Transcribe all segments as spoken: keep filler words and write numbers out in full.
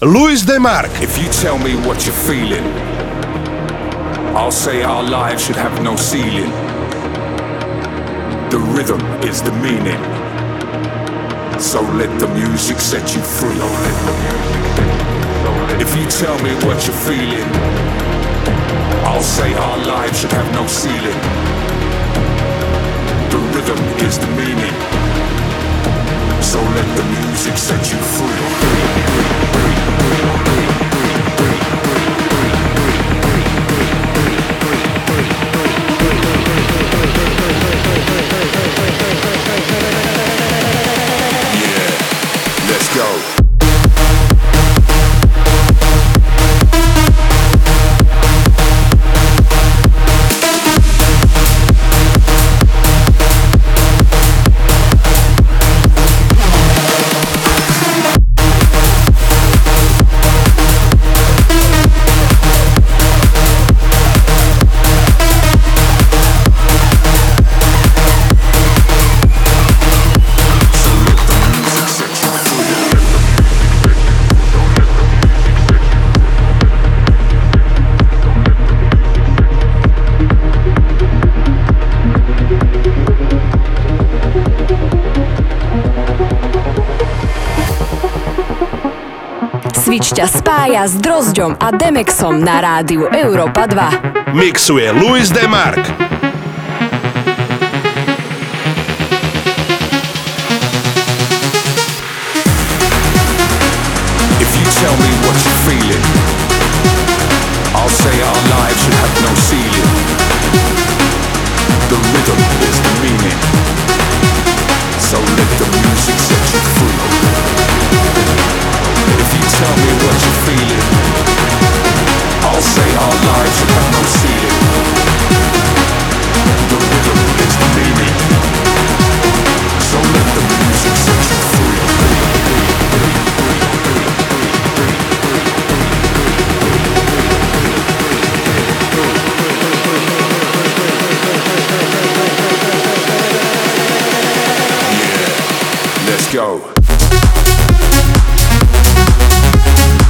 Luis DeMark. If you tell me what you're feeling, I'll say our lives should have no ceiling. The rhythm is the meaning, so let the music set you free. If you tell me what you're feeling, I'll say our lives should have no ceiling. The rhythm is the meaning, so let the music set you free. Let's go. Switch ťa spája s Drozďom a Demexom na rádiu Európa dva. Mixuje Luis DeMark. If you tell me what you're feeling, I'll say our lives should have no ceiling. The rhythm is the meaning, so let the music set you free. If you tell me what you're feeling, I'll say our lives should have no ceiling. The rhythm is the meaning, so let the music set you free. Yeah, let's go.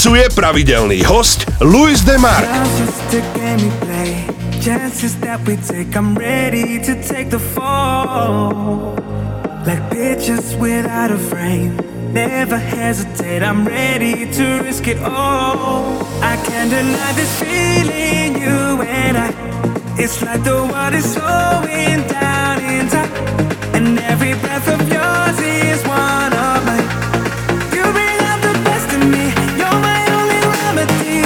mixuje pravidelný hosť Luis DeMark. Chances that we take, I'm ready to take the fall. Like pictures without a frame, never hesitate, I'm ready to risk it all. I can't deny this feeling, you and I. It's like the world is slowing down in time, and every breath of yours is one of mine. You bring out the best in me, you're my only remedy.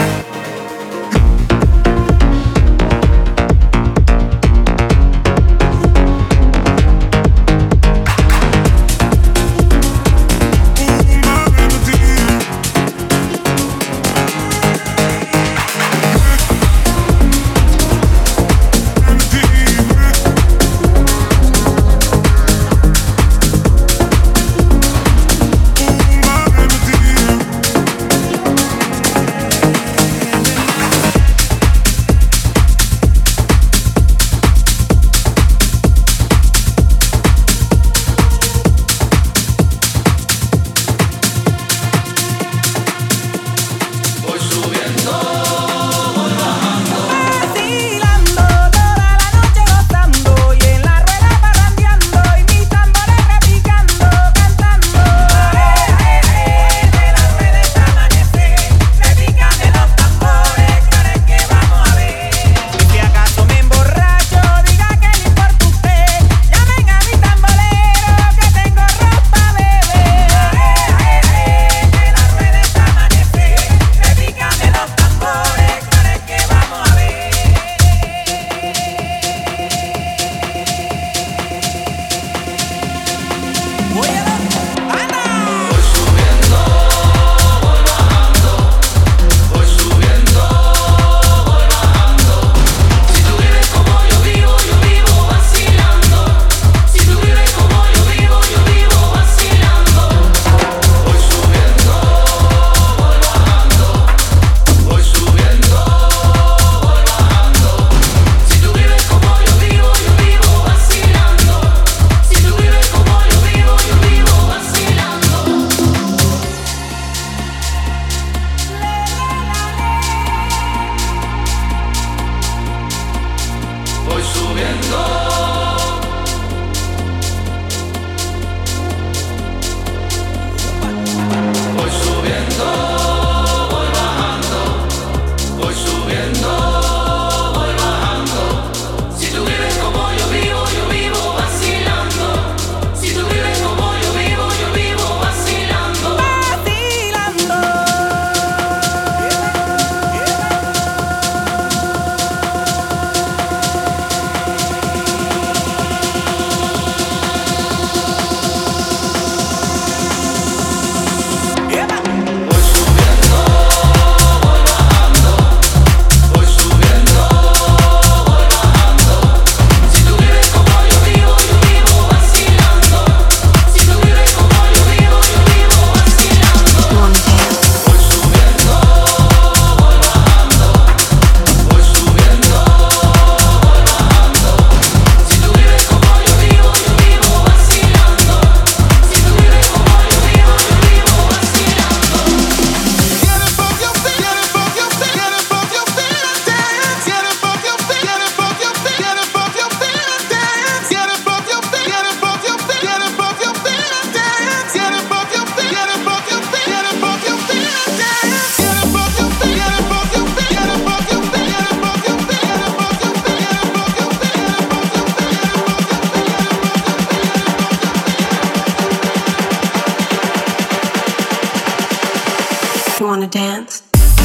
Wanna dance?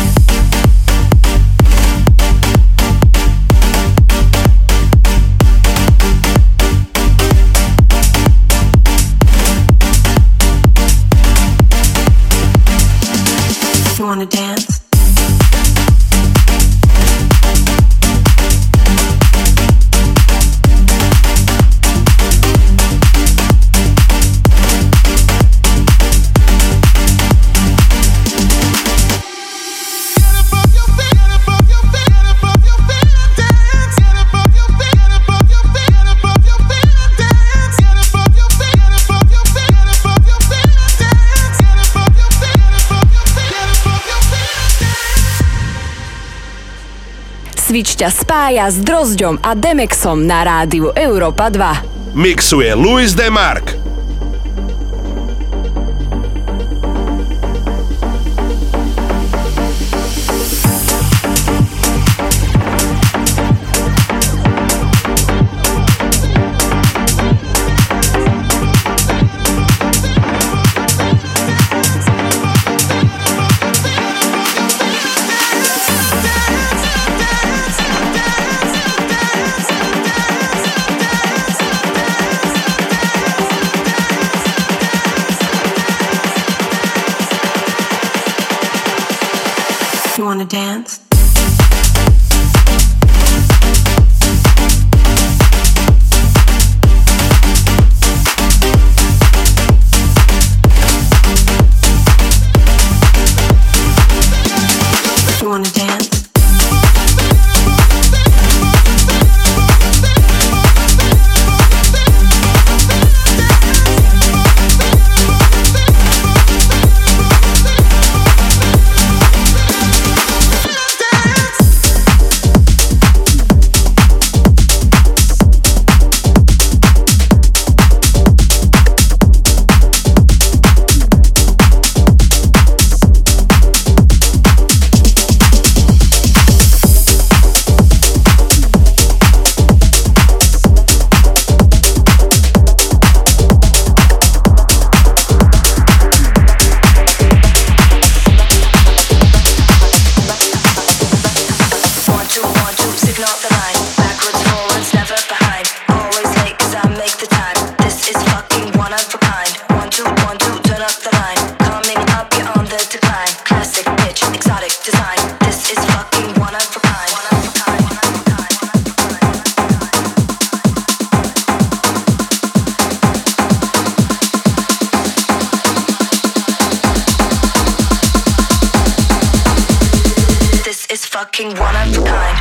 You wanna dance? Switch ťa spája s Drozďom a Demexom na rádiu Európa dva. Mixuje Luis DeMark. You wanna dance? You wanna dance? Fucking one of a kind.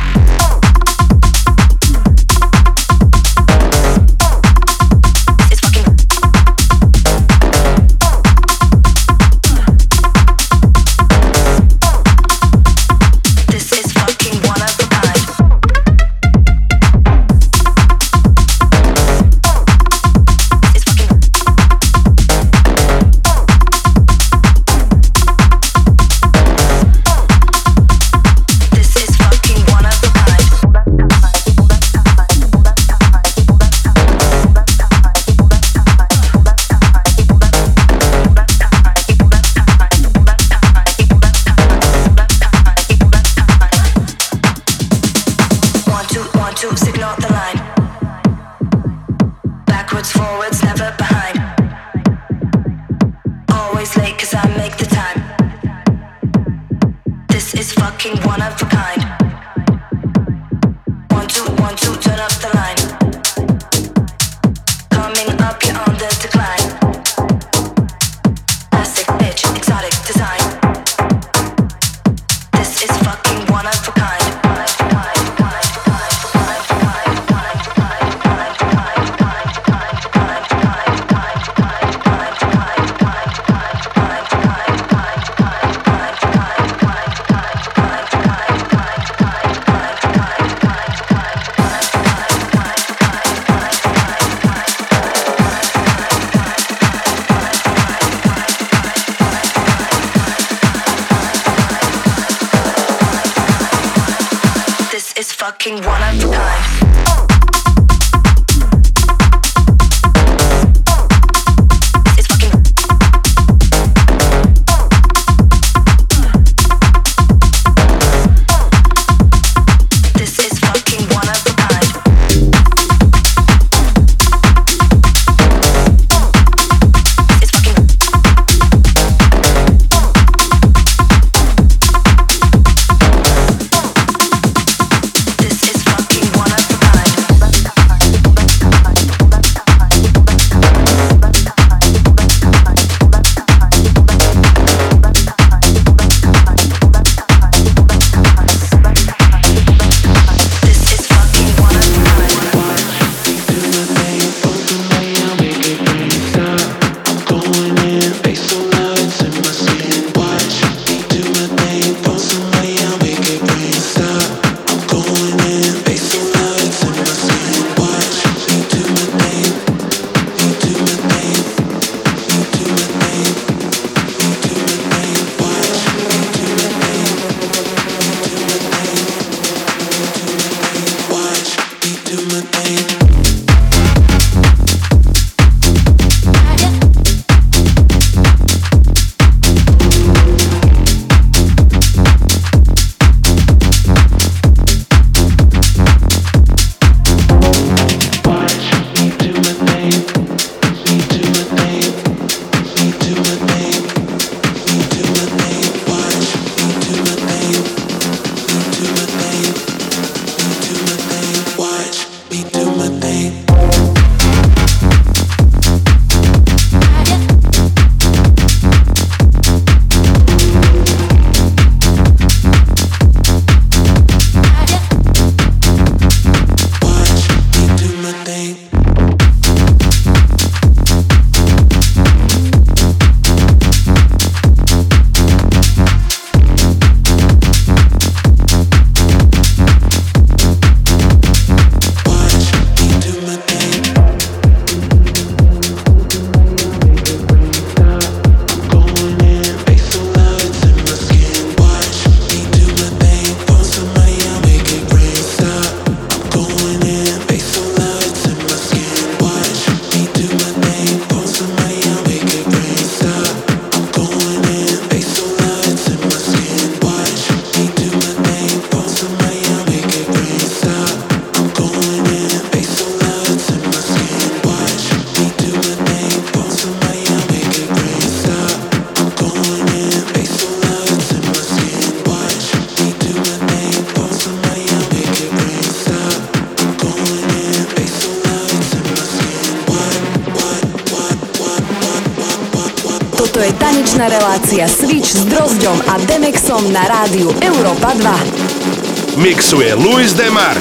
Tanečná relácia Switch s Drozďom a Demexom na rádiu Európa dva. Mixuje Luis DeMark.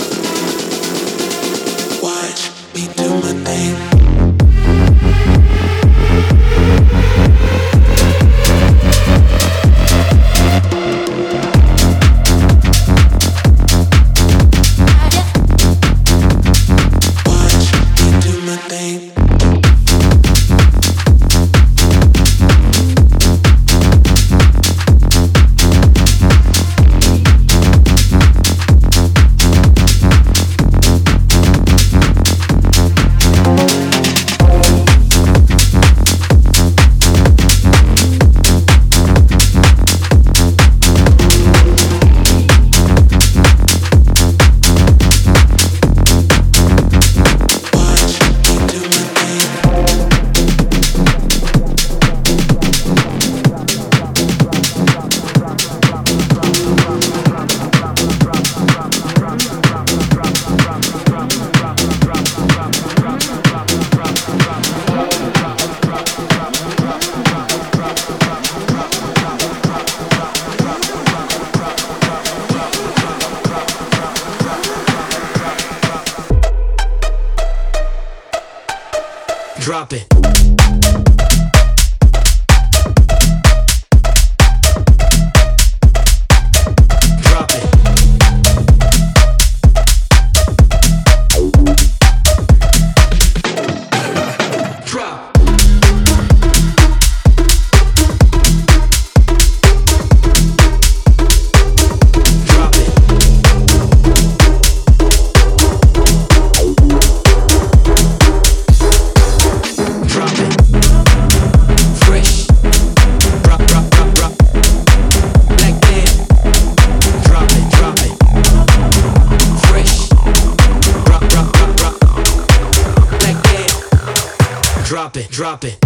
Watch me do my thing. Drop it. Drop it. Drop. Drop it. Drop it. Fresh. Drop, drop, drop, drop. Like that. Drop it, drop it. Fresh. Drop, drop, drop, drop. Like that. Drop it, drop it.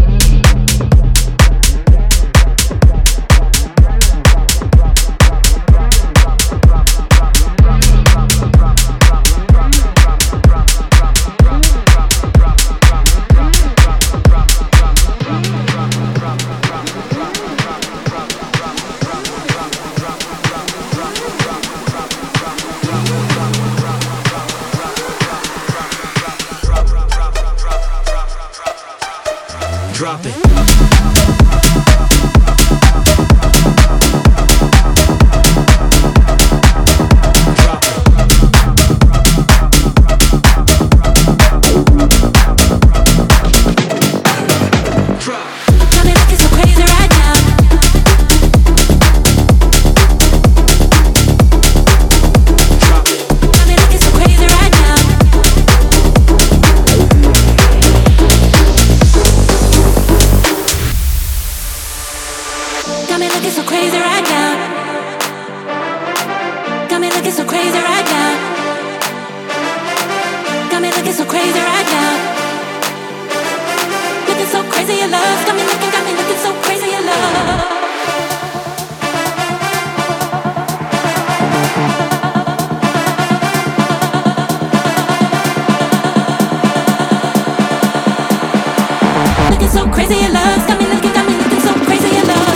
Drop it. Drop it. Drop. Got me looking so crazy right now. Drop it. Got me looking so crazy right now. Got me looking so crazy right now. Got me looking so crazy right now. Got me looking so crazy right now. Looking so crazy in love. Got me looking, got me looking so crazy in love. Looking so crazy in love. Got me looking, got me looking so crazy in love.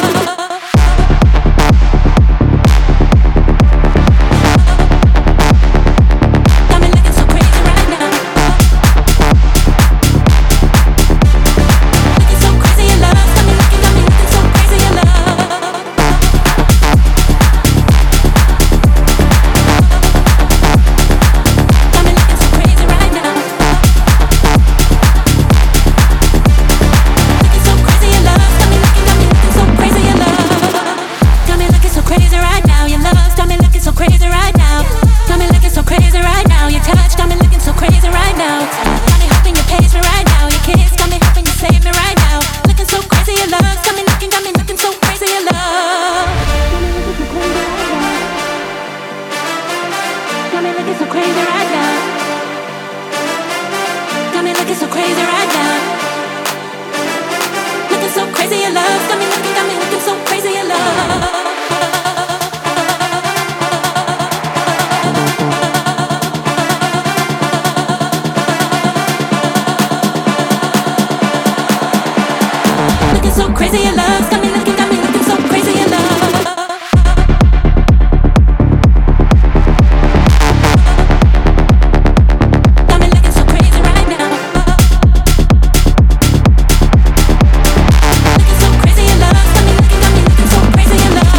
Got me looking so crazy right now. Looking so crazy in love. Got me looking, got me looking so crazy in love. Got me looking so crazy right now. Looking so crazy in love. Got me looking, got me looking so crazy in love. Got me looking so crazy right now. Your love got me looking so crazy right now. Got me looking so crazy right now. Your touch got me looking so crazy right now. Got me hoping you page me right now. Your kiss got me hoping you save me right now. Looking so crazy in love. Got me looking, got me looking so crazy in love. Got me looking so crazy right now. Got me looking so crazy right now. Looking so crazy in love. Got me looking, got me looking so crazy in love. Looking looking so crazy in love. Got me looking, got me looking so crazy in love. Got me looking so crazy right now. Looking so crazy in love. Got me looking, got me looking so crazy in love.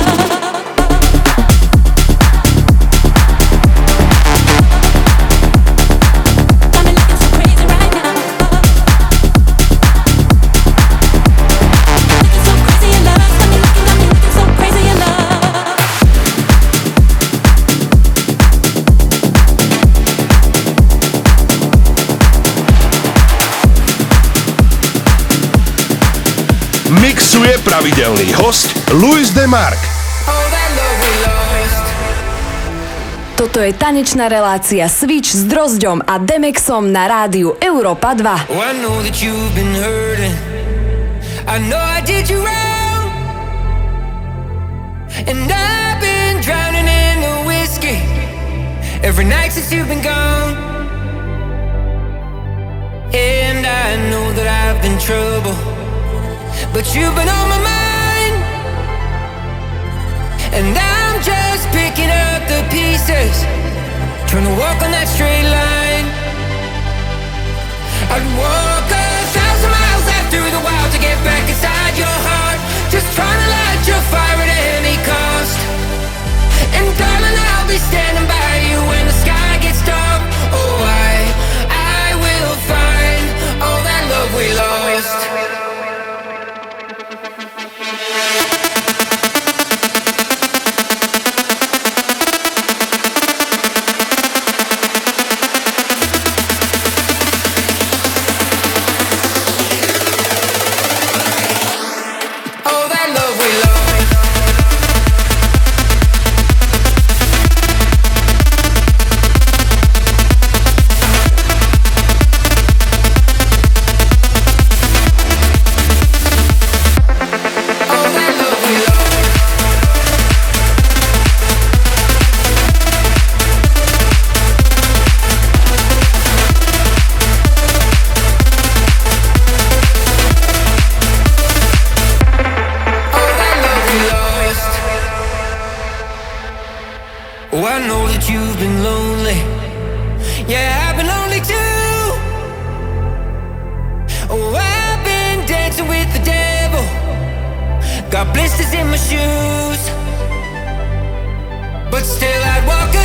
Mixuje pravidelný host Luis DeMark. Toto je tanečná relácia Switch s Drozďom a Demexom na rádiu Európa dva. Oh, I know that you've been hurting. I know I did you wrong. And I've been drowning in the whiskey every night since you've been gone. And I know that I've been trouble, but you've been on my mind. And I'm just picking up the pieces, trying to walk on that straight line. I'd walk a thousand miles out through the wild to get back inside your heart, just trying to light your fire at any cost. And darling, I'll be standing by you when the sky gets dark. Oh, I, I will find all that love we lost. Got blisters in my shoes, but still I'd walk